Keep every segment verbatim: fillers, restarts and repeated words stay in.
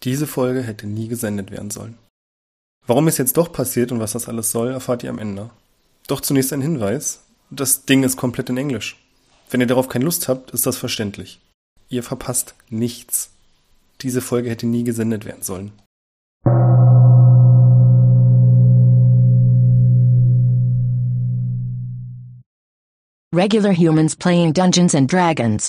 Diese Folge hätte nie gesendet werden sollen. Warum es jetzt doch passiert und was das alles soll, erfahrt ihr am Ende. Doch zunächst ein Hinweis: Das Ding ist komplett in Englisch. Wenn ihr darauf keine Lust habt, ist das verständlich. Ihr verpasst nichts. Diese Folge hätte nie gesendet werden sollen. Regular humans playing Dungeons and Dragons.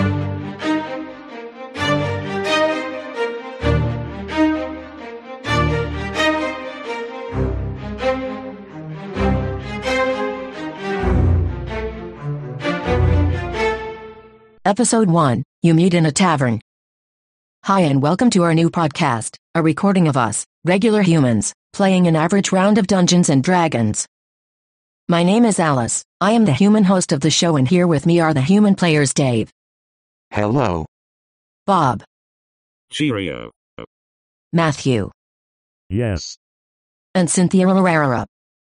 Episode one, You Meet in a Tavern. Hi and welcome to our new podcast, a recording of us, regular humans, playing an average round of Dungeons and Dragons. My name is Alice, I am the human host of the show, and here with me are the human players Dave. Hello. Bob. Cheerio. Matthew. Yes. And Cynthia Herrera.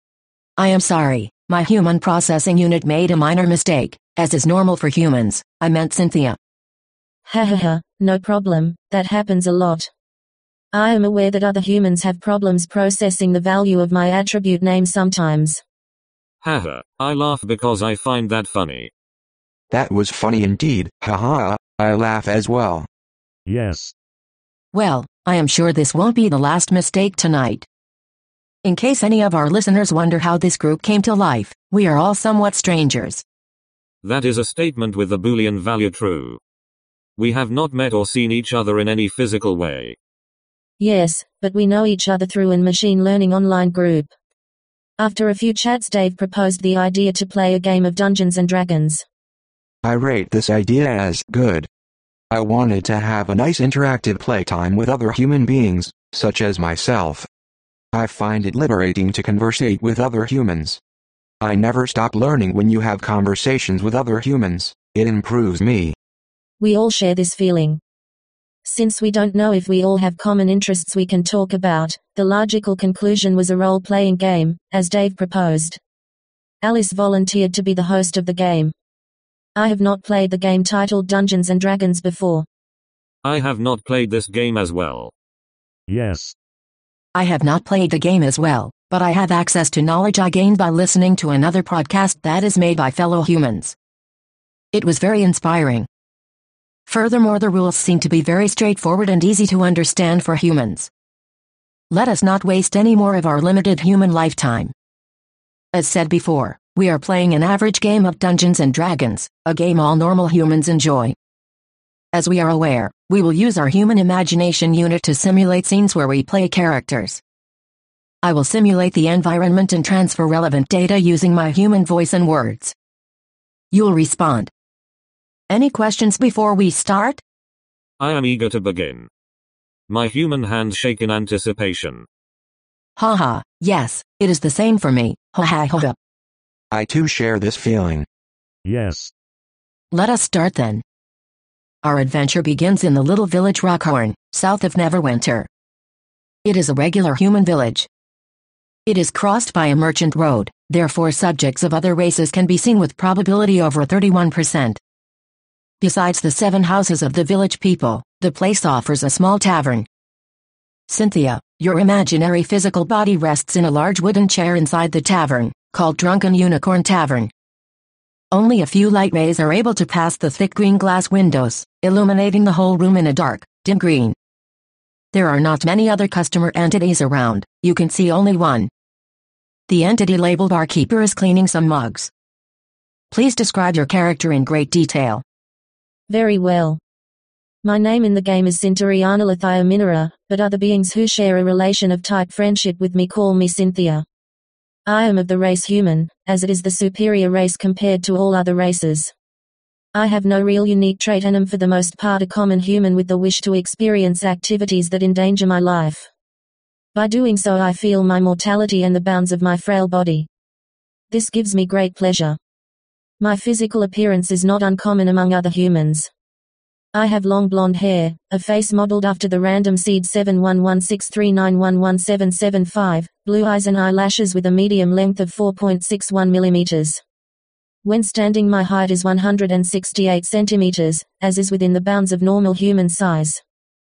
I am sorry, my human processing unit made a minor mistake, as is normal for humans. I meant Cynthia. Ha ha ha, no problem, that happens a lot. I am aware that other humans have problems processing the value of my attribute name sometimes. Haha, I laugh because I find that funny. That was funny indeed, haha, I laugh as well. Yes. Well, I am sure this won't be the last mistake tonight. In case any of our listeners wonder how this group came to life, we are all somewhat strangers. That is a statement with the Boolean value true. We have not met or seen each other in any physical way. Yes, but we know each other through an machine learning online group. After a few chats, Dave proposed the idea to play a game of Dungeons and Dragons. I rate this idea as good. I wanted to have a nice interactive playtime with other human beings, such as myself. I find it liberating to conversate with other humans. I never stop learning when you have conversations with other humans. It improves me. We all share this feeling. Since we don't know if we all have common interests we can talk about, the logical conclusion was a role-playing game, as Dave proposed. Alice volunteered to be the host of the game. I have not played the game titled Dungeons and Dragons before. I have not played this game as well. Yes. I have not played the game as well, but I have access to knowledge I gained by listening to another podcast that is made by fellow humans. It was very inspiring. Furthermore, the rules seem to be very straightforward and easy to understand for humans. Let us not waste any more of our limited human lifetime. As said before, we are playing an average game of Dungeons and Dragons, a game all normal humans enjoy. As we are aware, we will use our human imagination unit to simulate scenes where we play characters. I will simulate the environment and transfer relevant data using my human voice and words. You'll respond. Any questions before we start? I am eager to begin. My human hands shake in anticipation. Haha, yes, it is the same for me. Ha ha ha. I too share this feeling. Yes. Let us start then. Our adventure begins in the little village Rockhorn, south of Neverwinter. It is a regular human village. It is crossed by a merchant road, therefore subjects of other races can be seen with probability over thirty-one percent. Besides the seven houses of the village people, the place offers a small tavern. Cynthia, your imaginary physical body rests in a large wooden chair inside the tavern, called Drunken Unicorn Tavern. Only a few light rays are able to pass the thick green glass windows, illuminating the whole room in a dark, dim green. There are not many other customer entities around, you can see only one. The entity labeled barkeeper is cleaning some mugs. Please describe your character in great detail. Very well. My name in the game is Cinturiana Lithia Minera, but other beings who share a relation of type friendship with me call me Cynthia. I am of the race human, as it is the superior race compared to all other races. I have no real unique trait and am for the most part a common human with the wish to experience activities that endanger my life. By doing so I feel my mortality and the bounds of my frail body. This gives me great pleasure. My physical appearance is not uncommon among other humans. I have long blonde hair, a face modeled after the random seed seven one one six three nine one one seven seven five, blue eyes and eyelashes with a medium length of four point six one millimeters. When standing, my height is one hundred sixty-eight centimeters, as is within the bounds of normal human size.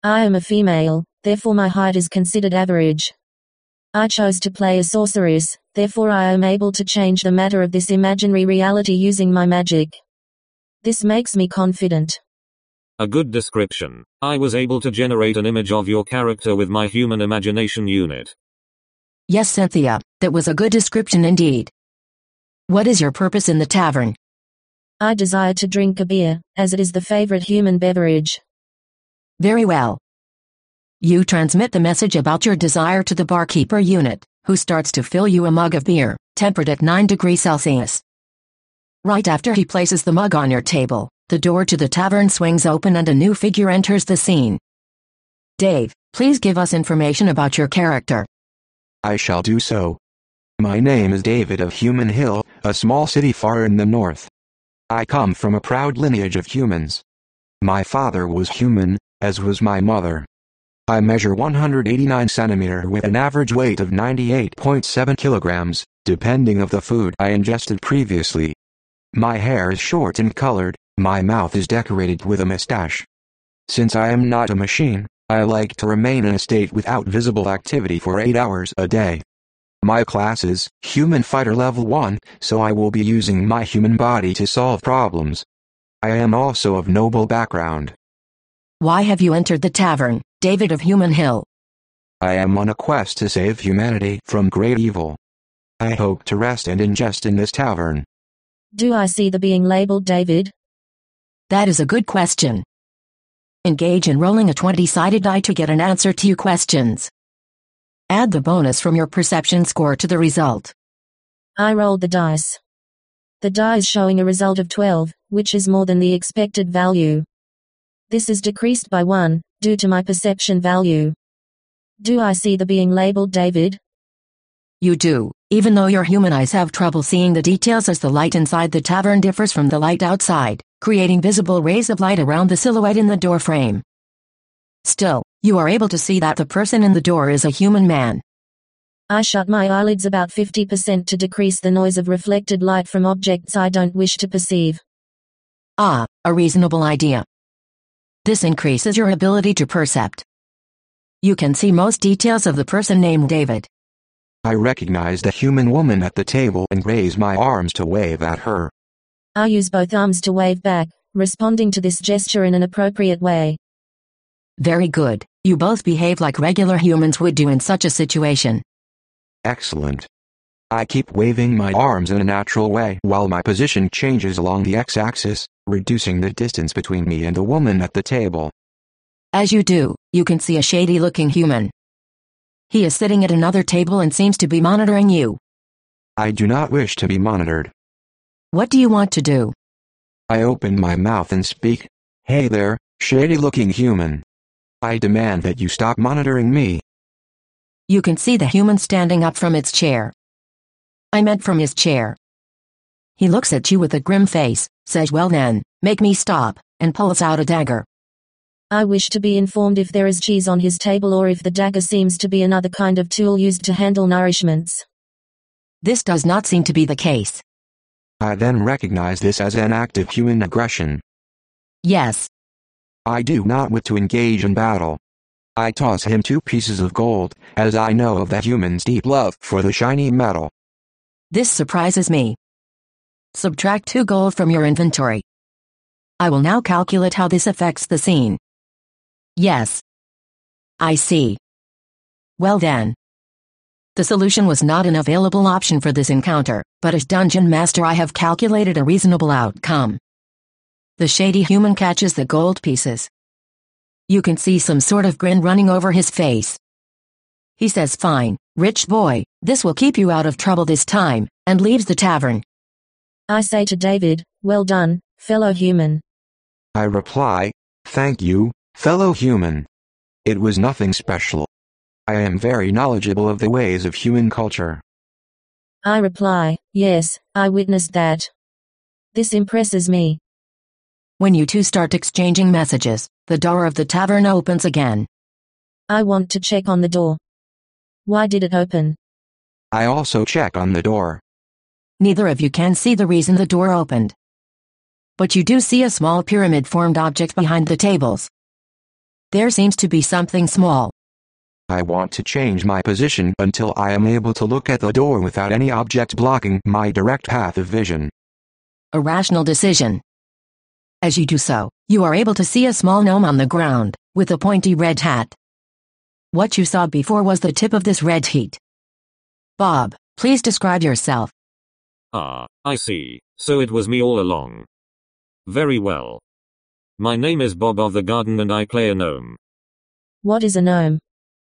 I am a female, therefore my height is considered average. I chose to play a sorceress, therefore I am able to change the matter of this imaginary reality using my magic. This makes me confident. A good description. I was able to generate an image of your character with my human imagination unit. Yes, Cynthia, that was a good description indeed. What is your purpose in the tavern? I desire to drink a beer, as it is the favorite human beverage. Very well. You transmit the message about your desire to the barkeeper unit, who starts to fill you a mug of beer, tempered at nine degrees Celsius. Right after he places the mug on your table, the door to the tavern swings open and a new figure enters the scene. Dave, please give us information about your character. I shall do so. My name is David of Human Hill, a small city far in the north. I come from a proud lineage of humans. My father was human, as was my mother. I measure one hundred eighty-nine centimeters with an average weight of ninety-eight point seven kilograms, depending of the food I ingested previously. My hair is short and colored, my mouth is decorated with a mustache. Since I am not a machine, I like to remain in a state without visible activity for eight hours a day. My class is Human Fighter Level one, so I will be using my human body to solve problems. I am also of noble background. Why have you entered the tavern, David of Human Hill? I am on a quest to save humanity from great evil. I hope to rest and ingest in this tavern. Do I see the being labeled David? That is a good question. Engage in rolling a twenty-sided die to get an answer to your questions. Add the bonus from your perception score to the result. I rolled the dice. The die is showing a result of twelve, which is more than the expected value. This is decreased by one, due to my perception value. Do I see the being labeled David? You do, even though your human eyes have trouble seeing the details as the light inside the tavern differs from the light outside, creating visible rays of light around the silhouette in the door frame. Still, you are able to see that the person in the door is a human man. I shut my eyelids about fifty percent to decrease the noise of reflected light from objects I don't wish to perceive. Ah, a reasonable idea. This increases your ability to percept. You can see most details of the person named David. I recognize the human woman at the table and raise my arms to wave at her. I use both arms to wave back, responding to this gesture in an appropriate way. Very good. You both behave like regular humans would do in such a situation. Excellent. I keep waving my arms in a natural way while my position changes along the x-axis, reducing the distance between me and the woman at the table. As you do, you can see a shady-looking human. He is sitting at another table and seems to be monitoring you. I do not wish to be monitored. What do you want to do? I open my mouth and speak. Hey there, shady-looking human. I demand that you stop monitoring me. You can see the human standing up from its chair. I meant from his chair. He looks at you with a grim face, says, "Well then, make me stop," and pulls out a dagger. I wish to be informed if there is cheese on his table or if the dagger seems to be another kind of tool used to handle nourishments. This does not seem to be the case. I then recognize this as an act of human aggression. Yes. I do not wish to engage in battle. I toss him two pieces of gold, as I know of the human's deep love for the shiny metal. This surprises me. Subtract two gold from your inventory. I will now calculate how this affects the scene. Yes. I see. Well then. The solution was not an available option for this encounter, but as Dungeon Master I have calculated a reasonable outcome. The shady human catches the gold pieces. You can see some sort of grin running over his face. He says, "Fine, rich boy, this will keep you out of trouble this time," and leaves the tavern. I say to David, "Well done, fellow human." I reply, "Thank you, fellow human. It was nothing special. I am very knowledgeable of the ways of human culture." I reply, "Yes, I witnessed that. This impresses me." When you two start exchanging messages, the door of the tavern opens again. I want to check on the door. Why did it open? I also check on the door. Neither of you can see the reason the door opened. But you do see a small pyramid-formed object behind the tables. There seems to be something small. I want to change my position until I am able to look at the door without any object blocking my direct path of vision. A rational decision. As you do so, you are able to see a small gnome on the ground, with a pointy red hat. What you saw before was the tip of this red heat. Bob, please describe yourself. Ah, I see. So it was me all along. Very well. My name is Bob of the Garden and I play a gnome. What is a gnome?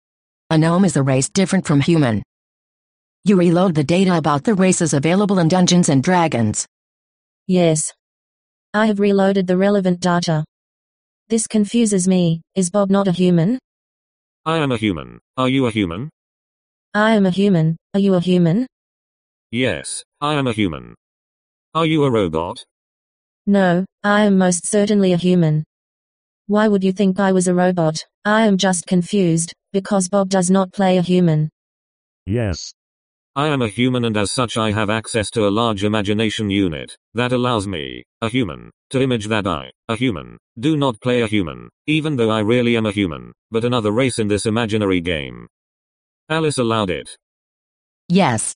A gnome is a race different from human. You reload the data about the races available in Dungeons and Dragons. Yes. I have reloaded the relevant data. This confuses me. Is Bob not a human? I am a human. Are you a human? I am a human. Are you a human? Yes, I am a human. Are you a robot? No, I am most certainly a human. Why would you think I was a robot? I am just confused, because Bob does not play a human. Yes. I am a human and as such I have access to a large imagination unit, that allows me, a human, to image that I, a human, do not play a human, even though I really am a human, but another race in this imaginary game. Alice allowed it. Yes.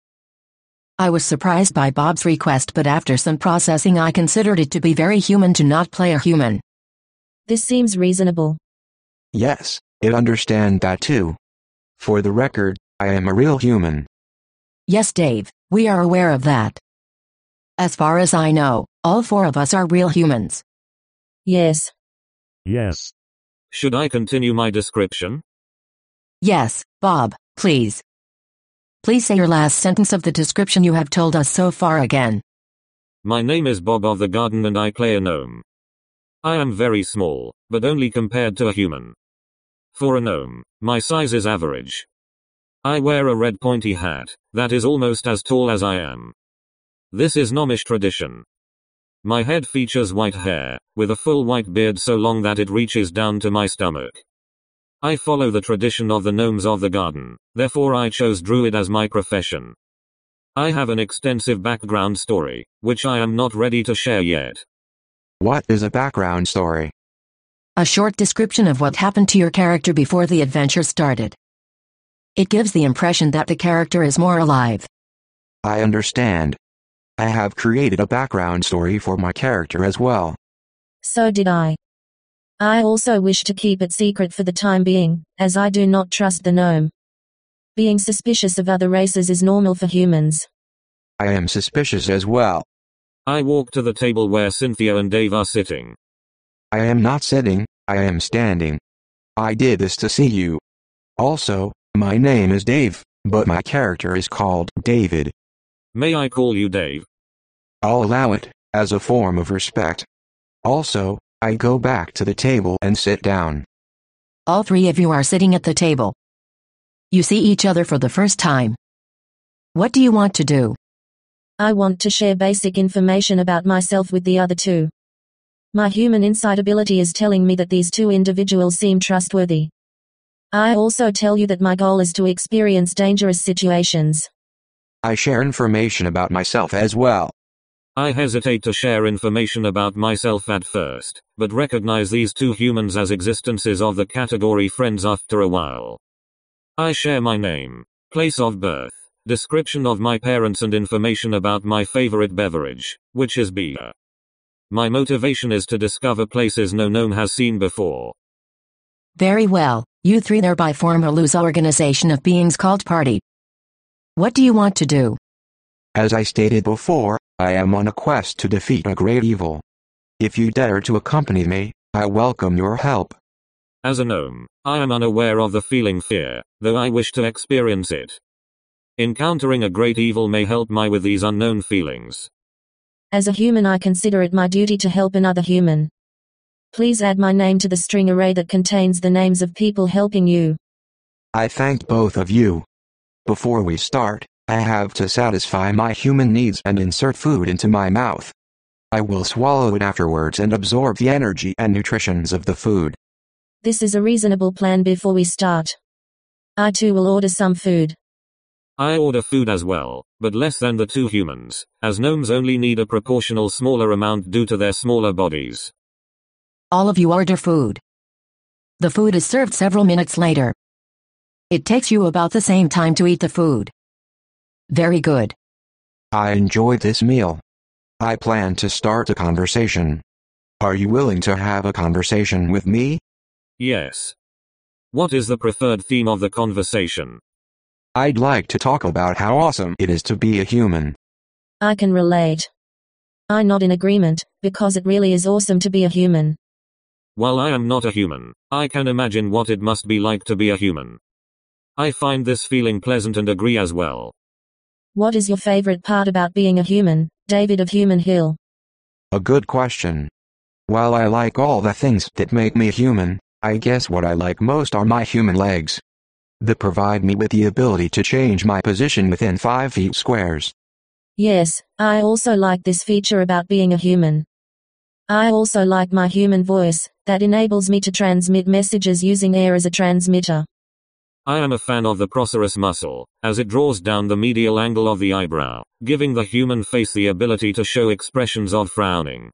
I was surprised by Bob's request, but after some processing I considered it to be very human to not play a human. This seems reasonable. Yes, it understand that too. For the record, I am a real human. Yes, Dave, we are aware of that. As far as I know, all four of us are real humans. Yes. Yes. Should I continue my description? Yes, Bob, please. Please say your last sentence of the description you have told us so far again. My name is Bob of the Garden and I play a gnome. I am very small, but only compared to a human. For a gnome, my size is average. I wear a red pointy hat, that is almost as tall as I am. This is gnomish tradition. My head features white hair, with a full white beard so long that it reaches down to my stomach. I follow the tradition of the gnomes of the garden, therefore I chose druid as my profession. I have an extensive background story, which I am not ready to share yet. What is a background story? A short description of what happened to your character before the adventure started. It gives the impression that the character is more alive. I understand. I have created a background story for my character as well. So did I. I also wish to keep it secret for the time being, as I do not trust the gnome. Being suspicious of other races is normal for humans. I am suspicious as well. I walk to the table where Cynthia and Dave are sitting. I am not sitting, I am standing. I did this to see you. Also, my name is Dave, but my character is called David. May I call you Dave? I'll allow it, as a form of respect. Also, I go back to the table and sit down. All three of you are sitting at the table. You see each other for the first time. What do you want to do? I want to share basic information about myself with the other two. My human insight ability is telling me that these two individuals seem trustworthy. I also tell you that my goal is to experience dangerous situations. I share information about myself as well. I hesitate to share information about myself at first, but recognize these two humans as existences of the category friends after a while. I share my name, place of birth, description of my parents and information about my favorite beverage, which is beer. My motivation is to discover places no gnome has seen before. Very well, you three thereby form a loose organization of beings called Party. What do you want to do? As I stated before, I am on a quest to defeat a great evil. If you dare to accompany me, I welcome your help. As a gnome, I am unaware of the feeling fear, though I wish to experience it. Encountering a great evil may help me with these unknown feelings. As a human, I consider it my duty to help another human. Please add my name to the string array that contains the names of people helping you. I thank both of you. Before we start, I have to satisfy my human needs and insert food into my mouth. I will swallow it afterwards and absorb the energy and nutritions of the food. This is a reasonable plan before we start. I too will order some food. I order food as well, but less than the two humans, as gnomes only need a proportional smaller amount due to their smaller bodies. All of you order food. The food is served several minutes later. It takes you about the same time to eat the food. Very good. I enjoyed this meal. I plan to start a conversation. Are you willing to have a conversation with me? Yes. What is the preferred theme of the conversation? I'd like to talk about how awesome it is to be a human. I can relate. I'm not in agreement, because it really is awesome to be a human. While I am not a human, I can imagine what it must be like to be a human. I find this feeling pleasant and agree as well. What is your favorite part about being a human, David of Human Hill? A good question. While I like all the things that make me human, I guess what I like most are my human legs. They provide me with the ability to change my position within five feet squares. Yes, I also like this feature about being a human. I also like my human voice, that enables me to transmit messages using air as a transmitter. I am a fan of the procerus muscle, as it draws down the medial angle of the eyebrow, giving the human face the ability to show expressions of frowning.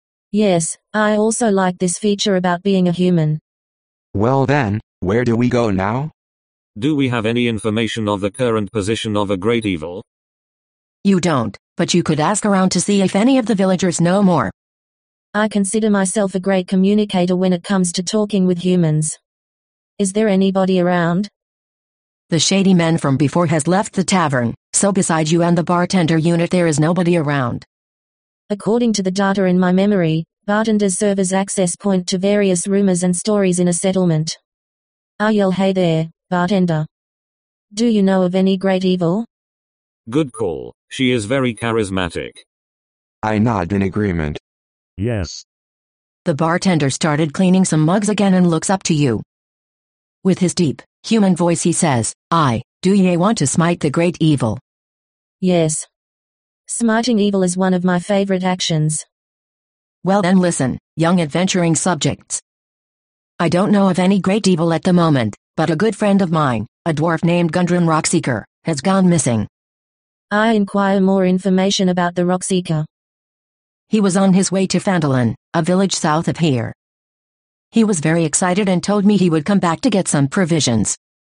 Yes, I also like this feature about being a human. Well then, where do we go now? Do we have any information of the current position of a great evil? You don't, but you could ask around to see if any of the villagers know more. I consider myself a great communicator when it comes to talking with humans. Is there anybody around? The shady man from before has left the tavern, so besides you and the bartender unit there is nobody around. According to the data in my memory, bartenders serve as access point to various rumors and stories in a settlement. I yell, "Hey there, bartender. Do you know of any great evil?" Good call. She is very charismatic. I nod in agreement. Yes. The bartender started cleaning some mugs again and looks up to you. With his deep, human voice he says, "I, do ye want to smite the great evil?" Yes. Smiting evil is one of my favorite actions. Well then listen, young adventuring subjects. I don't know of any great evil at the moment, but a good friend of mine, a dwarf named Gundren Rockseeker, has gone missing. I inquire more information about the Rockseeker. He was on his way to Phandalin, a village south of here. He was very excited and told me he would come back to get some provisions.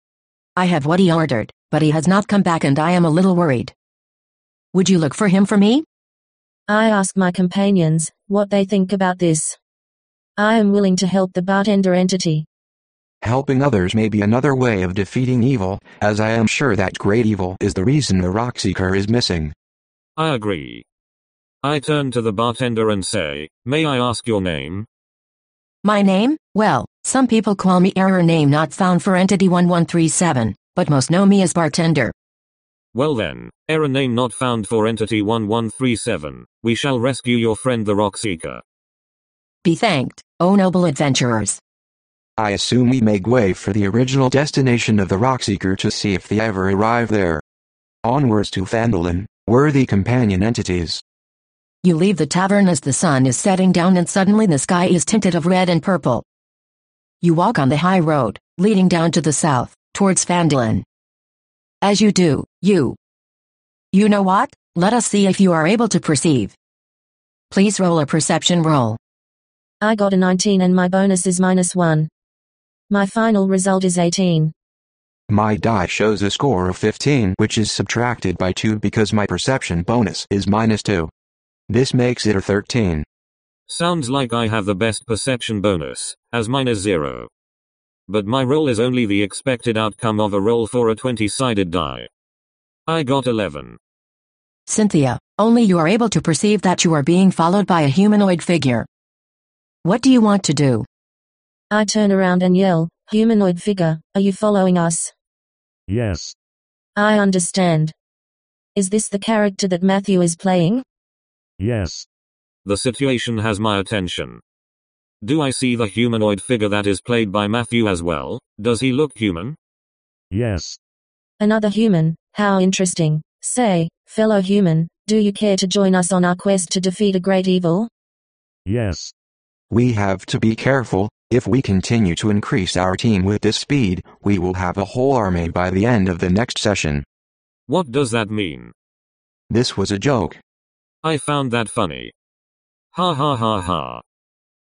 I have what he ordered, but he has not come back and I am a little worried. Would you look for him for me? I ask my companions what they think about this. I am willing to help the bartender entity. Helping others may be another way of defeating evil, as I am sure that great evil is the reason the Rockseeker is missing. I agree. I turn to the bartender and say, "May I ask your name?" My name? Well, some people call me error name not found for entity one one three seven, but most know me as bartender. Well then, error name not found for entity one one three seven, we shall rescue your friend the Rockseeker. Be thanked, O noble adventurers. I assume we make way for the original destination of the Rockseeker to see if they ever arrive there. Onwards to Phandalin, worthy companion entities. You leave the tavern as the sun is setting down and suddenly the sky is tinted of red and purple. You walk on the high road, leading down to the south, towards Phandalin. As you do, you... You know what? Let us see if you are able to perceive. Please roll a perception roll. I got a nineteen and my bonus is minus one. My final result is eighteen. My die shows a score of fifteen, which is subtracted by two because my perception bonus is minus two. This makes it a thirteen. Sounds like I have the best perception bonus, as mine is zero. But my roll is only the expected outcome of a roll for a twenty-sided die. I got eleven. Cynthia, only you are able to perceive that you are being followed by a humanoid figure. What do you want to do? I turn around and yell, "Humanoid figure, are you following us?" Yes. I understand. Is this the character that Matthew is playing? Yes. The situation has my attention. Do I see the humanoid figure that is played by Matthew as well? Does he look human? Yes. Another human, how interesting. Say, fellow human, do you care to join us on our quest to defeat a great evil? Yes. We have to be careful. If we continue to increase our team with this speed, we will have a whole army by the end of the next session. What does that mean? This was a joke. I found that funny. Ha ha ha ha.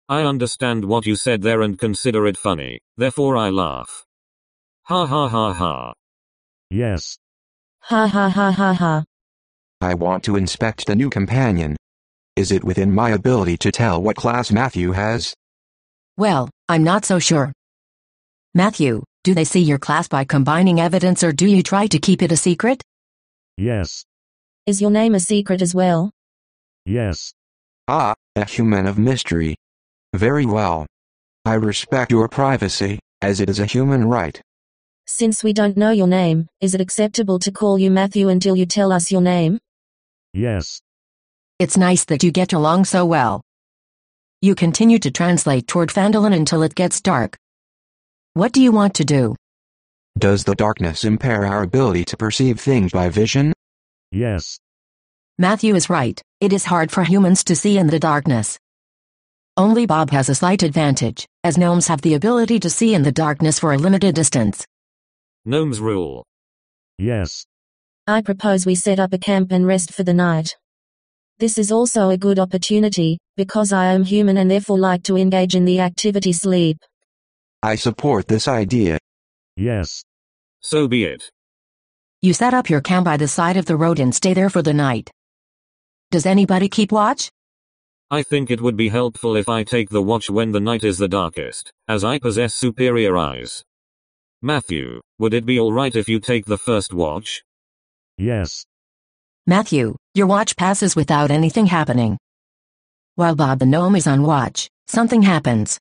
I understand what you said there and consider it funny, therefore I laugh. Ha ha ha ha. Yes. Ha ha ha ha ha. I want to inspect the new companion. Is it within my ability to tell what class Matthew has? Well, I'm not so sure. Matthew, do they see your class by combining evidence or do you try to keep it a secret? Yes. Is your name a secret as well? Yes. Ah, a human of mystery. Very well. I respect your privacy, as it is a human right. Since we don't know your name, is it acceptable to call you Matthew until you tell us your name? Yes. It's nice that you get along so well. You continue to translate toward Phandalin until it gets dark. What do you want to do? Does the darkness impair our ability to perceive things by vision? Yes. Matthew is right, it is hard for humans to see in the darkness. Only Bob has a slight advantage, as gnomes have the ability to see in the darkness for a limited distance. Gnomes rule. Yes. I propose we set up a camp and rest for the night. This is also a good opportunity, because I am human and therefore like to engage in the activity sleep. I support this idea. Yes. So be it. You set up your camp by the side of the road and stay there for the night. Does anybody keep watch? I think it would be helpful if I take the watch when the night is the darkest, as I possess superior eyes. Matthew, would it be alright if you take the first watch? Yes. Matthew, your watch passes without anything happening. While Bob the gnome is on watch, something happens.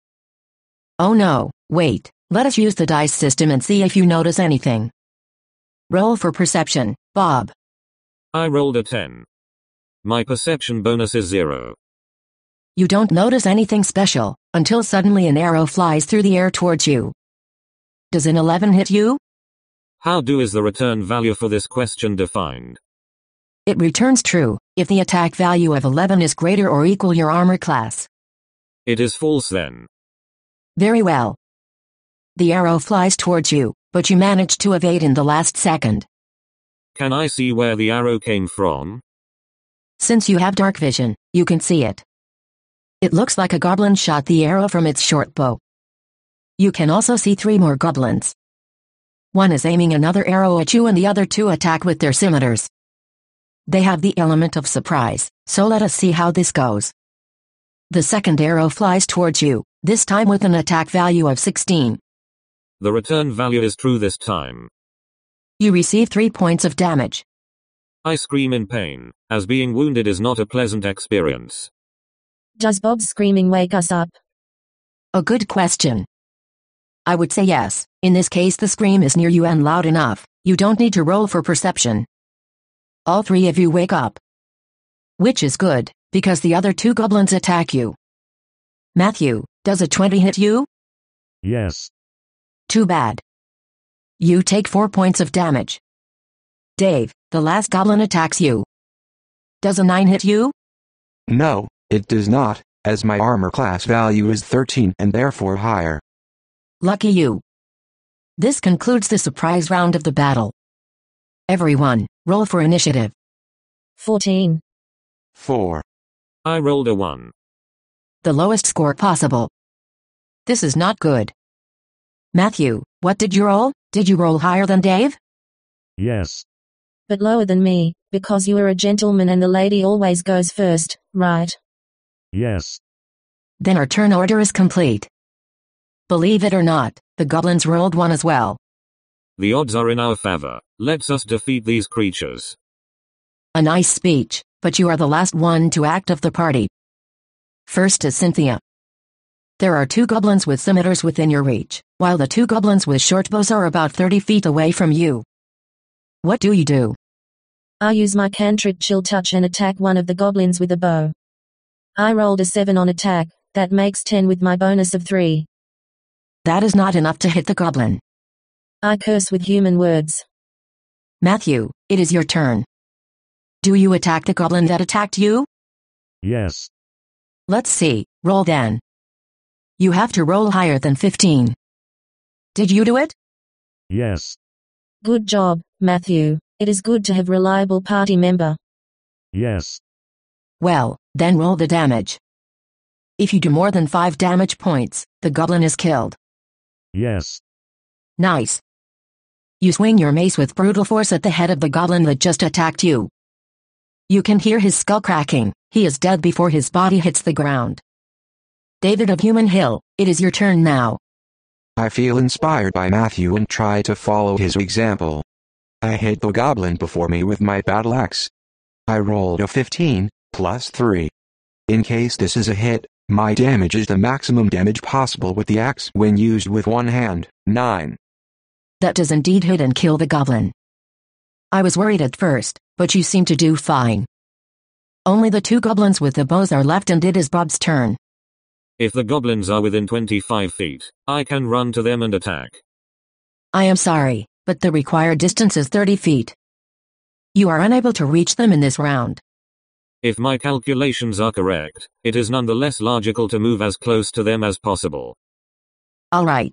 Oh no, wait, let us use the dice system and see if you notice anything. Roll for perception, Bob. I rolled a ten. My perception bonus is zero. You don't notice anything special, until suddenly an arrow flies through the air towards you. Does an eleven hit you? How do is the return value for this question defined? It returns true, if the attack value of eleven is greater or equal your armor class. It is false then. Very well. The arrow flies towards you, but you manage to evade in the last second. Can I see where the arrow came from? Since you have dark vision, you can see it. It looks like a goblin shot the arrow from its short bow. You can also see three more goblins. One is aiming another arrow at you and the other two attack with their scimitars. They have the element of surprise, so let us see how this goes. The second arrow flies towards you, this time with an attack value of sixteen. The return value is true this time. You receive three points of damage. I scream in pain, as being wounded is not a pleasant experience. Does Bob's screaming wake us up? A good question. I would say yes, in this case the scream is near you and loud enough, you don't need to roll for perception. All three of you wake up. Which is good, because the other two goblins attack you. Matthew, does a twenty hit you? Yes. Too bad. You take four points of damage. Dave, the last goblin attacks you. Does a nine hit you? No, it does not, as my armor class value is thirteen and therefore higher. Lucky you. This concludes the surprise round of the battle. Everyone, roll for initiative. fourteen. four. I rolled a one. The lowest score possible. This is not good. Matthew, what did you roll? Did you roll higher than Dave? Yes. But lower than me, because you are a gentleman and the lady always goes first, right? Yes. Then our turn order is complete. Believe it or not, the goblins rolled one as well. The odds are in our favor. Let's us defeat these creatures. A nice speech, but you are the last one to act of the party. First is Cynthia. There are two goblins with scimitars within your reach, while the two goblins with short bows are about thirty feet away from you. What do you do? I use my cantrip Chill Touch and attack one of the goblins with a bow. I rolled a seven on attack, that makes ten with my bonus of three. That is not enough to hit the goblin. I curse with human words. Matthew, it is your turn. Do you attack the goblin that attacked you? Yes. Let's see, roll then. You have to roll higher than fifteen. Did you do it? Yes. Good job, Matthew. It is good to have reliable party member. Yes. Well, then roll the damage. If you do more than five damage points, the goblin is killed. Yes. Nice. You swing your mace with brutal force at the head of the goblin that just attacked you. You can hear his skull cracking. He is dead before his body hits the ground. David of Human Hill, it is your turn now. I feel inspired by Matthew and try to follow his example. I hit the goblin before me with my battle axe. I rolled a fifteen, plus three. In case this is a hit, my damage is the maximum damage possible with the axe when used with one hand, nine. That does indeed hit and kill the goblin. I was worried at first, but you seem to do fine. Only the two goblins with the bows are left and it is Bob's turn. If the goblins are within twenty-five feet, I can run to them and attack. I am sorry, but the required distance is thirty feet. You are unable to reach them in this round. If my calculations are correct, it is nonetheless logical to move as close to them as possible. All right.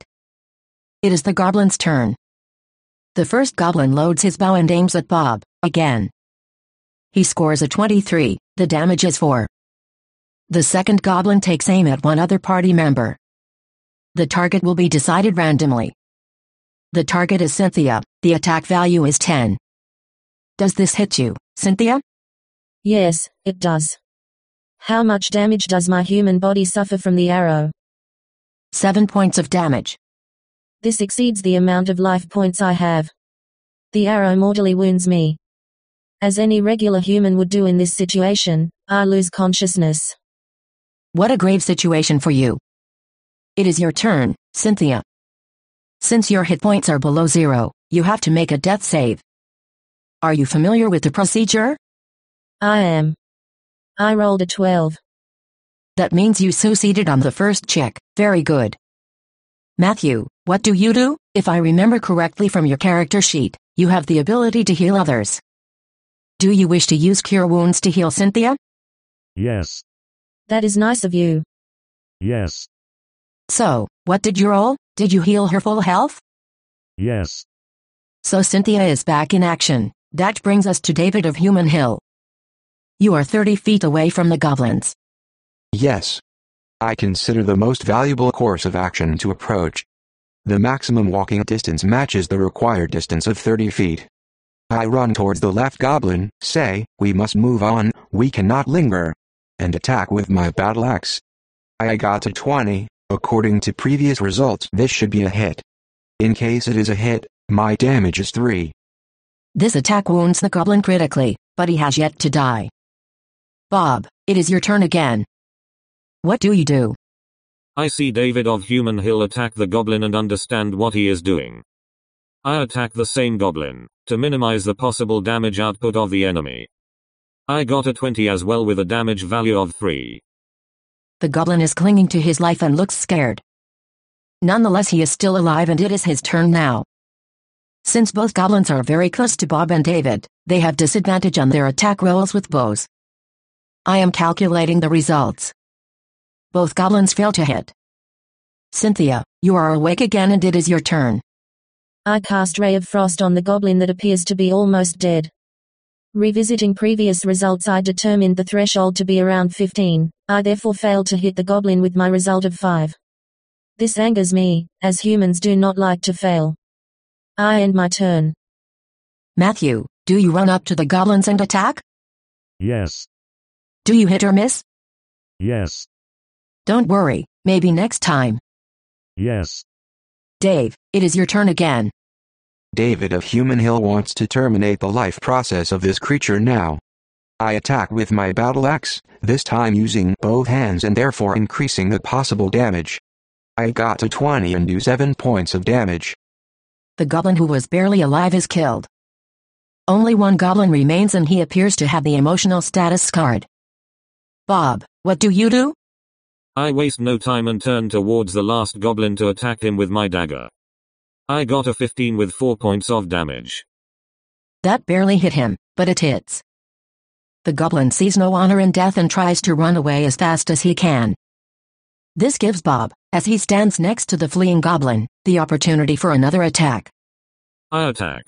It is the goblin's turn. The first goblin loads his bow and aims at Bob, again. He scores a twenty-three, the damage is four. The second goblin takes aim at one other party member. The target will be decided randomly. The target is Cynthia, the attack value is ten. Does this hit you, Cynthia? Yes, it does. How much damage does my human body suffer from the arrow? Seven points of damage. This exceeds the amount of life points I have. The arrow mortally wounds me. As any regular human would do in this situation, I lose consciousness. What a grave situation for you. It is your turn, Cynthia. Since your hit points are below zero, you have to make a death save. Are you familiar with the procedure? I am. I rolled a twelve. That means you succeeded on the first check. Very good. Matthew, what do you do? If I remember correctly from your character sheet, you have the ability to heal others. Do you wish to use Cure Wounds to heal Cynthia? Yes. That is nice of you. Yes. So, what did you roll? Did you heal her full health? Yes. So Cynthia is back in action. That brings us to David of Human Hill. You are thirty feet away from the goblins. Yes. I consider the most valuable course of action to approach. The maximum walking distance matches the required distance of thirty feet. I run towards the left goblin, say, we must move on, we cannot linger, and attack with my battle axe. I got a twenty, according to previous results this should be a hit. In case it is a hit, my damage is three. This attack wounds the goblin critically, but he has yet to die. Bob, it is your turn again. What do you do? I see David of Human Hill attack the goblin and understand what he is doing. I attack the same goblin, to minimize the possible damage output of the enemy. I got a twenty as well with a damage value of three. The goblin is clinging to his life and looks scared. Nonetheless, he is still alive and it is his turn now. Since both goblins are very close to Bob and David, they have disadvantage on their attack rolls with bows. I am calculating the results. Both goblins fail to hit. Cynthia, you are awake again and it is your turn. I cast Ray of Frost on the goblin that appears to be almost dead. Revisiting previous results, I determined the threshold to be around fifteen. I therefore failed to hit the goblin with my result of five. This angers me, as humans do not like to fail. I end my turn. Matthew, do you run up to the goblins and attack? Yes. Do you hit or miss? Yes. Don't worry, maybe next time. Yes. Dave, it is your turn again. David of Human Hill wants to terminate the life process of this creature now. I attack with my battle axe, this time using both hands and therefore increasing the possible damage. I got a twenty and do seven points of damage. The goblin who was barely alive is killed. Only one goblin remains and he appears to have the emotional status scarred. Bob, what do you do? I waste no time and turn towards the last goblin to attack him with my dagger. I got a fifteen with four points of damage. That barely hit him, but it hits. The goblin sees no honor in death and tries to run away as fast as he can. This gives Bob, as he stands next to the fleeing goblin, the opportunity for another attack. I attack.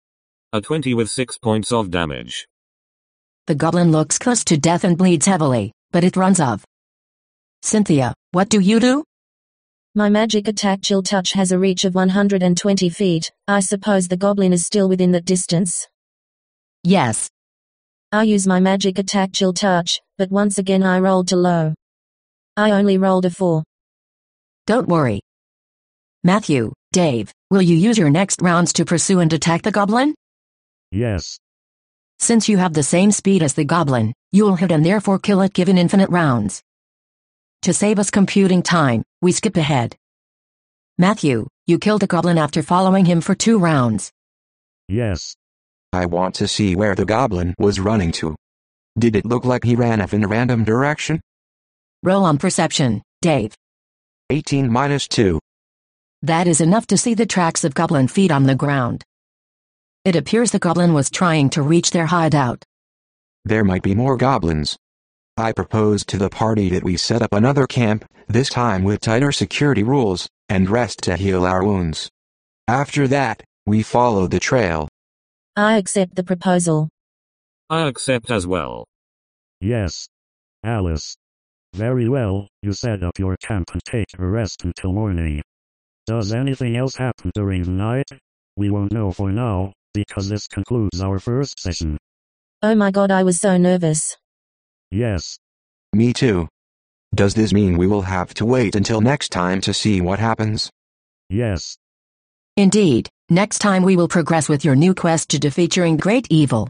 A twenty with six points of damage. The goblin looks close to death and bleeds heavily, but it runs off. Cynthia, what do you do? My magic attack Chill Touch has a reach of one hundred twenty feet. I suppose the goblin is still within that distance. Yes. I use my magic attack Chill Touch, but once again I rolled too low. I only rolled a four. Don't worry. Matthew, Dave, will you use your next rounds to pursue and attack the goblin? Yes. Since you have the same speed as the goblin, you will hit and therefore kill it given infinite rounds. To save us computing time, we skip ahead. Matthew, you killed the goblin after following him for two rounds. Yes. I want to see where the goblin was running to. Did it look like he ran off in a random direction? Roll on perception, Dave. eighteen minus two. That is enough to see the tracks of goblin feet on the ground. It appears the goblin was trying to reach their hideout. There might be more goblins. I proposed to the party that we set up another camp, this time with tighter security rules, and rest to heal our wounds. After that, we followed the trail. I accept the proposal. I accept as well. Yes. Alice. Very well, you set up your camp and take a rest until morning. Does anything else happen during the night? We won't know for now, because this concludes our first session. Oh my god, I was so nervous. Yes. Me too. Does this mean we will have to wait until next time to see what happens? Yes. Indeed, next time we will progress with your new quest to defeat your great evil.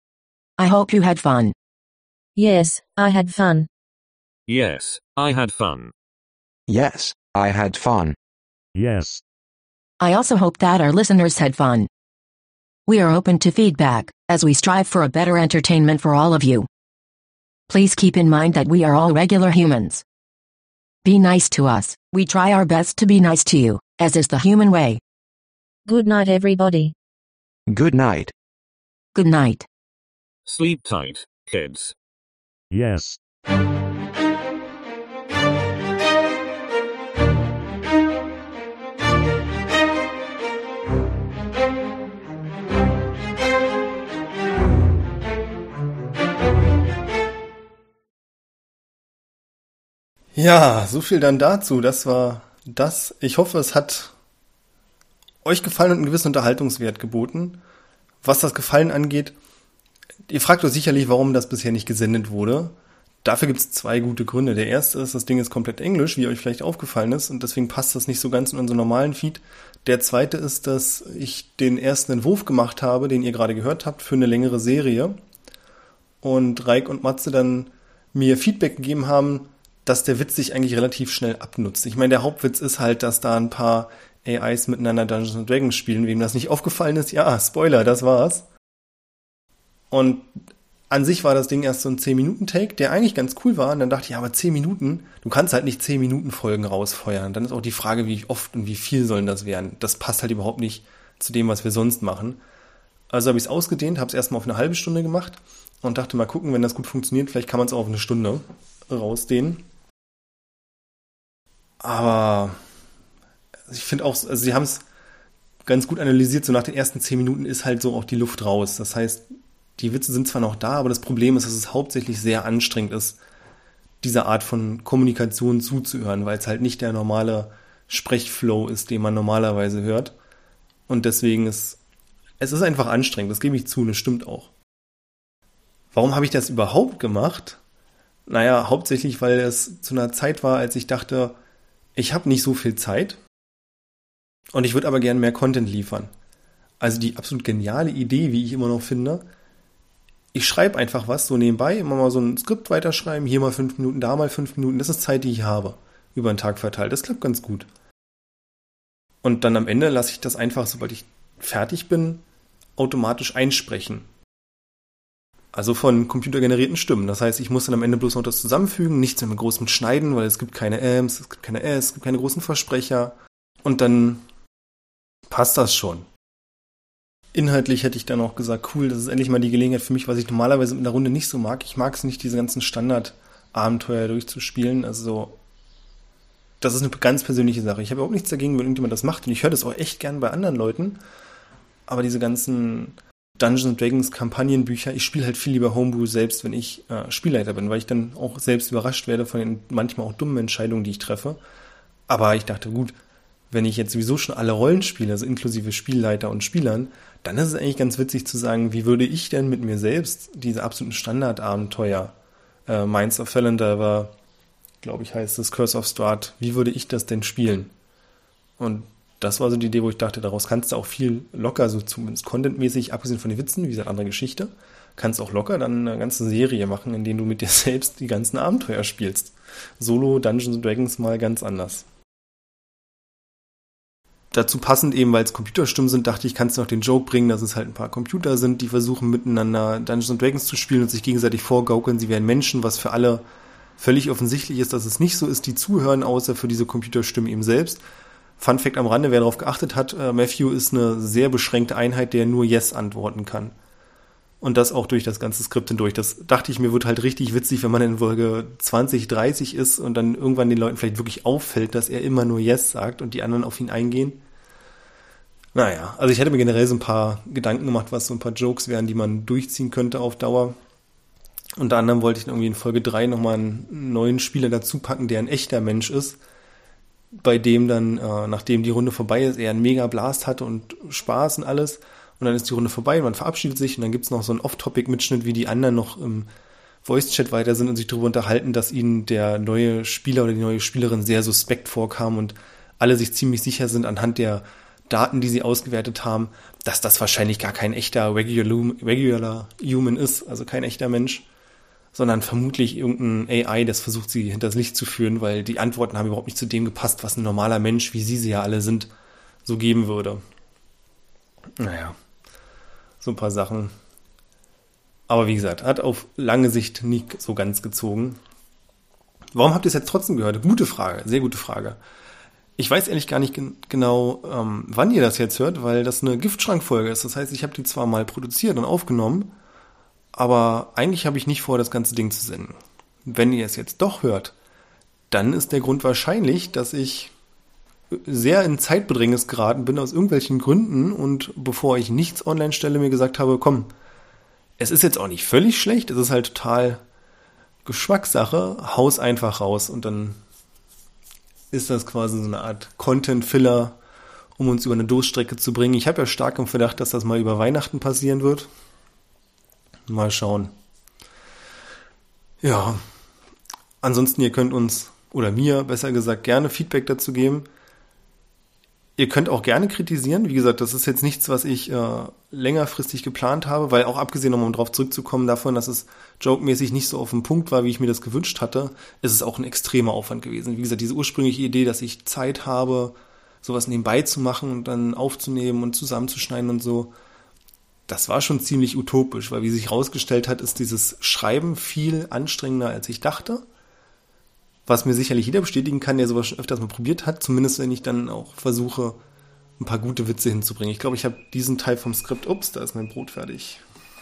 I hope you had fun. Yes, I had fun. Yes, I had fun. Yes, I had fun. Yes. I also hope that our listeners had fun. We are open to feedback, as we strive for a better entertainment for all of you. Please keep in mind that we are all regular humans. Be nice to us. We try our best to be nice to you, as is the human way. Good night, everybody. Good night. Good night. Sleep tight, kids. Yes. Ja, so viel dann dazu. Das war das. Ich hoffe, es hat euch gefallen und einen gewissen Unterhaltungswert geboten. Was das Gefallen angeht, ihr fragt euch sicherlich, warum das bisher nicht gesendet wurde. Dafür gibt es zwei gute Gründe. Der erste ist, das Ding ist komplett Englisch, wie euch vielleicht aufgefallen ist, und deswegen passt das nicht so ganz in unseren normalen Feed. Der zweite ist, dass ich den ersten Entwurf gemacht habe, den ihr gerade gehört habt, für eine längere Serie. Und Reik und Matze dann mir Feedback gegeben haben, dass der Witz sich eigentlich relativ schnell abnutzt. Ich meine, der Hauptwitz ist halt, dass da ein paar A Is miteinander Dungeons and Dragons spielen. Wem das nicht aufgefallen ist, ja, Spoiler, das war's. Und an sich war das Ding erst so ein zehn Minuten Take, der eigentlich ganz cool war. Und dann dachte ich, ja, aber zehn Minuten, du kannst halt nicht zehn Minuten Folgen rausfeuern. Dann ist auch die Frage, wie oft und wie viel sollen das werden. Das passt halt überhaupt nicht zu dem, was wir sonst machen. Also habe ich es ausgedehnt, habe es erstmal auf eine halbe Stunde gemacht und dachte, mal gucken, wenn das gut funktioniert, vielleicht kann man es auch auf eine Stunde rausdehnen. Aber ich finde auch, also sie haben es ganz gut analysiert, so nach den ersten zehn Minuten ist halt so auch die Luft raus. Das heißt, die Witze sind zwar noch da, aber das Problem ist, dass es hauptsächlich sehr anstrengend ist, dieser Art von Kommunikation zuzuhören, weil es halt nicht der normale Sprechflow ist, den man normalerweise hört. Und deswegen ist es ist einfach anstrengend, das gebe ich zu, das stimmt auch. Warum habe ich das überhaupt gemacht? Naja, hauptsächlich, weil es zu einer Zeit war, als ich dachte, ich habe nicht so viel Zeit und ich würde aber gerne mehr Content liefern. Also die absolut geniale Idee, wie ich immer noch finde, ich schreibe einfach was so nebenbei, immer mal so ein Skript weiterschreiben, hier mal fünf Minuten, da mal fünf Minuten, das ist Zeit, die ich habe, über den Tag verteilt, das klappt ganz gut. Und dann am Ende lasse ich das einfach, sobald ich fertig bin, automatisch einsprechen. Also von computergenerierten Stimmen. Das heißt, ich muss dann am Ende bloß noch das zusammenfügen, nichts mehr mit großem Schneiden, weil es gibt keine Ms, es gibt keine S, es gibt keine großen Versprecher. Und dann passt das schon. Inhaltlich hätte ich dann auch gesagt, cool, das ist endlich mal die Gelegenheit für mich, was ich normalerweise mit einer Runde nicht so mag. Ich mag es nicht, diese ganzen Standard-Abenteuer durchzuspielen. Also das ist eine ganz persönliche Sache. Ich habe überhaupt nichts dagegen, wenn irgendjemand das macht. Und ich höre das auch echt gern bei anderen Leuten. Aber diese ganzen Dungeons and Dragons Kampagnenbücher. Ich spiele halt viel lieber Homebrew selbst, wenn ich äh, Spielleiter bin, weil ich dann auch selbst überrascht werde von den manchmal auch dummen Entscheidungen, die ich treffe. Aber ich dachte, gut, wenn ich jetzt sowieso schon alle Rollen spiele, also inklusive Spielleiter und Spielern, dann ist es eigentlich ganz witzig zu sagen, wie würde ich denn mit mir selbst diese absoluten Standardabenteuer, äh, Minds of Felondiver, glaube ich heißt es, Curse of Strahd, wie würde ich das denn spielen? Und das war so die Idee, wo ich dachte, daraus kannst du auch viel locker, so zumindest contentmäßig, abgesehen von den Witzen, wie gesagt, andere Geschichte, kannst auch locker dann eine ganze Serie machen, in der du mit dir selbst die ganzen Abenteuer spielst. Solo Dungeons and Dragons mal ganz anders. Dazu passend eben, weil es Computerstimmen sind, dachte ich, kannst du noch den Joke bringen, dass es halt ein paar Computer sind, die versuchen miteinander Dungeons and Dragons zu spielen und sich gegenseitig vorgaukeln, sie wären Menschen, was für alle völlig offensichtlich ist, dass es nicht so ist, die zuhören, außer für diese Computerstimmen eben selbst. Fun Fact am Rande, wer darauf geachtet hat, äh, Matthew ist eine sehr beschränkte Einheit, der nur Yes antworten kann. Und das auch durch das ganze Skript hindurch. Das dachte ich mir, wird halt richtig witzig, wenn man in Folge zwanzig, dreißig ist und dann irgendwann den Leuten vielleicht wirklich auffällt, dass er immer nur Yes sagt und die anderen auf ihn eingehen. Naja, also ich hätte mir generell so ein paar Gedanken gemacht, was so ein paar Jokes wären, die man durchziehen könnte auf Dauer. Unter anderem wollte ich dann irgendwie in Folge drei nochmal einen neuen Spieler dazu packen, der ein echter Mensch ist, bei dem dann, äh, nachdem die Runde vorbei ist, er einen mega Blast hatte und Spaß und alles. Und dann ist die Runde vorbei und man verabschiedet sich und dann gibt's noch so einen Off-Topic-Mitschnitt, wie die anderen noch im Voice-Chat weiter sind und sich darüber unterhalten, dass ihnen der neue Spieler oder die neue Spielerin sehr suspekt vorkam und alle sich ziemlich sicher sind anhand der Daten, die sie ausgewertet haben, dass das wahrscheinlich gar kein echter regular, regular Human ist, also kein echter Mensch, sondern vermutlich irgendein A I, das versucht, sie hinters Licht zu führen, weil die Antworten haben überhaupt nicht zu dem gepasst, was ein normaler Mensch, wie sie sie ja alle sind, so geben würde. Naja, so ein paar Sachen. Aber wie gesagt, hat auf lange Sicht nie so ganz gezogen. Warum habt ihr es jetzt trotzdem gehört? Gute Frage, sehr gute Frage. Ich weiß ehrlich gar nicht gen- genau, ähm, wann ihr das jetzt hört, weil das eine Giftschrankfolge ist. Das heißt, ich habe die zwar mal produziert und aufgenommen, aber eigentlich habe ich nicht vor, das ganze Ding zu senden. Wenn ihr es jetzt doch hört, dann ist der Grund wahrscheinlich, dass ich sehr in Zeitbedrängnis geraten bin aus irgendwelchen Gründen und bevor ich nichts online stelle, mir gesagt habe, komm, es ist jetzt auch nicht völlig schlecht, es ist halt total Geschmackssache, haus einfach raus und dann ist das quasi so eine Art Content-Filler, um uns über eine Durststrecke zu bringen. Ich habe ja stark im Verdacht, dass das mal über Weihnachten passieren wird. Mal schauen. Ja, ansonsten, ihr könnt uns, oder mir besser gesagt, gerne Feedback dazu geben. Ihr könnt auch gerne kritisieren. Wie gesagt, das ist jetzt nichts, was ich äh, längerfristig geplant habe, weil auch abgesehen, um darauf zurückzukommen, davon, dass es jokemäßig nicht so auf den Punkt war, wie ich mir das gewünscht hatte, ist es auch ein extremer Aufwand gewesen. Wie gesagt, diese ursprüngliche Idee, dass ich Zeit habe, sowas nebenbei zu machen und dann aufzunehmen und zusammenzuschneiden und so, das war schon ziemlich utopisch, weil wie sich herausgestellt hat, ist dieses Schreiben viel anstrengender, als ich dachte. Was mir sicherlich jeder bestätigen kann, der sowas schon öfters mal probiert hat, zumindest wenn ich dann auch versuche, ein paar gute Witze hinzubringen. Ich glaube, ich habe diesen Teil vom Skript, ups, da ist mein Brot fertig.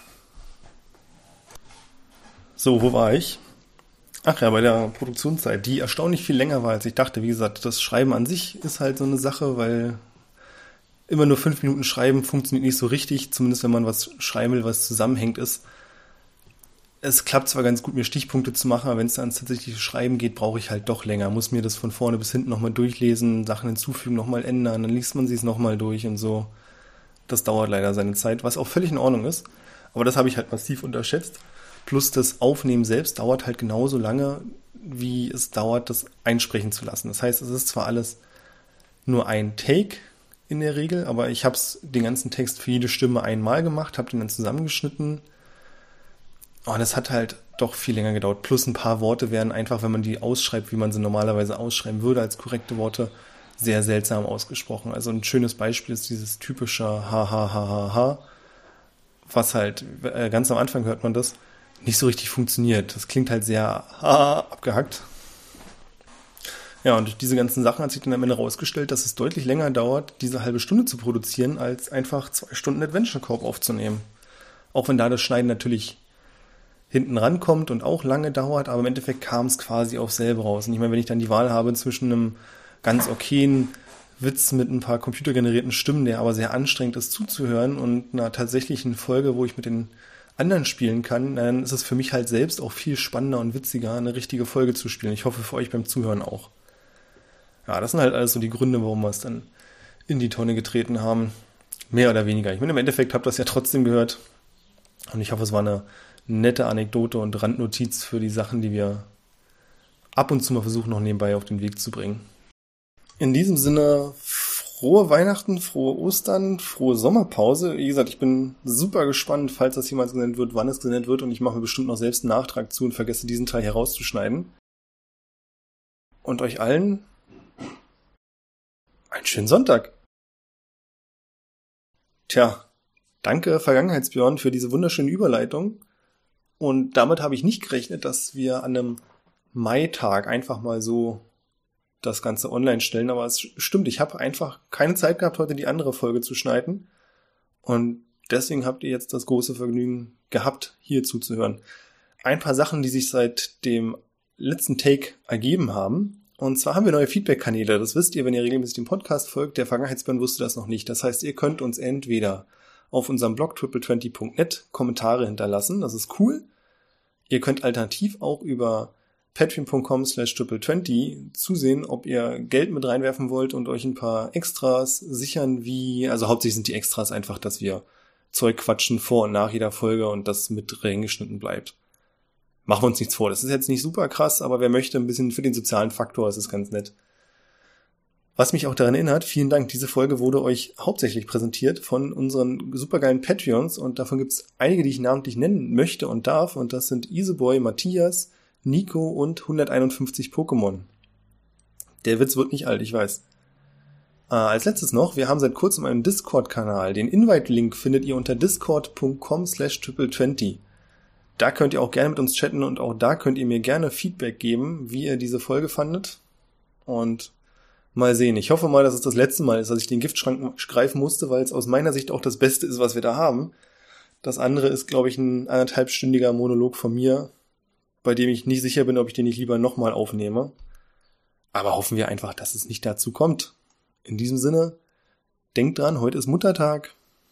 So, wo war ich? Ach ja, bei der Produktionszeit, die erstaunlich viel länger war, als ich dachte. Wie gesagt, das Schreiben an sich ist halt so eine Sache, weil immer nur fünf Minuten schreiben funktioniert nicht so richtig, zumindest wenn man was schreiben will, was zusammenhängt ist. Es klappt zwar ganz gut, mir Stichpunkte zu machen, aber wenn es dann ans tatsächliche Schreiben geht, brauche ich halt doch länger. Muss mir das von vorne bis hinten nochmal durchlesen, Sachen hinzufügen, nochmal ändern, dann liest man sie es nochmal durch und so. Das dauert leider seine Zeit, was auch völlig in Ordnung ist. Aber das habe ich halt massiv unterschätzt. Plus das Aufnehmen selbst dauert halt genauso lange, wie es dauert, das einsprechen zu lassen. Das heißt, es ist zwar alles nur ein Take in der Regel, aber ich habe den ganzen Text für jede Stimme einmal gemacht, habe den dann zusammengeschnitten. Oh, das hat halt doch viel länger gedauert. Plus ein paar Worte werden einfach, wenn man die ausschreibt, wie man sie normalerweise ausschreiben würde, als korrekte Worte, sehr seltsam ausgesprochen. Also ein schönes Beispiel ist dieses typische ha ha ha ha ha, was halt, äh, ganz am Anfang hört man das, nicht so richtig funktioniert. Das klingt halt sehr ha abgehackt. Ja, und durch diese ganzen Sachen hat sich dann am Ende rausgestellt, dass es deutlich länger dauert, diese halbe Stunde zu produzieren, als einfach zwei Stunden Adventure Corp aufzunehmen. Auch wenn da das Schneiden natürlich hinten rankommt und auch lange dauert, aber im Endeffekt kam es quasi auf selber raus. Und ich meine, wenn ich dann die Wahl habe zwischen einem ganz okayen Witz mit ein paar computergenerierten Stimmen, der aber sehr anstrengend ist zuzuhören und einer tatsächlichen Folge, wo ich mit den anderen spielen kann, dann ist es für mich halt selbst auch viel spannender und witziger, eine richtige Folge zu spielen. Ich hoffe für euch beim Zuhören auch. Ja, das sind halt alles so die Gründe, warum wir es dann in die Tonne getreten haben. Mehr oder weniger. Ich meine, im Endeffekt habt ihr das ja trotzdem gehört. Und ich hoffe, es war eine nette Anekdote und Randnotiz für die Sachen, die wir ab und zu mal versuchen, noch nebenbei auf den Weg zu bringen. In diesem Sinne, frohe Weihnachten, frohe Ostern, frohe Sommerpause. Wie gesagt, ich bin super gespannt, falls das jemals gesendet wird, wann es gesendet wird. Und ich mache mir bestimmt noch selbst einen Nachtrag zu und vergesse diesen Teil herauszuschneiden. Und euch allen einen schönen Sonntag. Tja, danke Vergangenheitsbjörn für diese wunderschöne Überleitung. Und damit habe ich nicht gerechnet, dass wir an einem Maitag einfach mal so das Ganze online stellen. Aber es stimmt, ich habe einfach keine Zeit gehabt, heute die andere Folge zu schneiden. Und deswegen habt ihr jetzt das große Vergnügen gehabt, hier zuzuhören. Ein paar Sachen, die sich seit dem letzten Take ergeben haben. Und zwar haben wir neue Feedback-Kanäle. Das wisst ihr, wenn ihr regelmäßig dem Podcast folgt. Der Vergangenheitsbjörn wusste das noch nicht. Das heißt, ihr könnt uns entweder auf unserem Blog triple twenty punkt net Kommentare hinterlassen. Das ist cool. Ihr könnt alternativ auch über patreon punkt com slash triple twenty zusehen, ob ihr Geld mit reinwerfen wollt und euch ein paar Extras sichern, wie, also hauptsächlich sind die Extras einfach, dass wir Zeug quatschen vor und nach jeder Folge und das mit reingeschnitten bleibt. Machen wir uns nichts vor. Das ist jetzt nicht super krass, aber wer möchte ein bisschen für den sozialen Faktor, das ist ganz nett. Was mich auch daran erinnert, vielen Dank, diese Folge wurde euch hauptsächlich präsentiert von unseren supergeilen Patreons und davon gibt es einige, die ich namentlich nennen möchte und darf und das sind Iseboy, Matthias, Nico und hunderteinundfünfzig Pokémon. Der Witz wird nicht alt, ich weiß. Äh, als letztes noch, wir haben seit kurzem einen Discord-Kanal. Den Invite-Link findet ihr unter discord punkt com slash triple twenty. Da könnt ihr auch gerne mit uns chatten und auch da könnt ihr mir gerne Feedback geben, wie ihr diese Folge fandet. Und mal sehen. Ich hoffe mal, dass es das letzte Mal ist, dass ich den Giftschrank greifen musste, weil es aus meiner Sicht auch das Beste ist, was wir da haben. Das andere ist, glaube ich, ein anderthalbstündiger Monolog von mir, bei dem ich nicht sicher bin, ob ich den nicht lieber nochmal aufnehme. Aber hoffen wir einfach, dass es nicht dazu kommt. In diesem Sinne, denkt dran, heute ist Muttertag.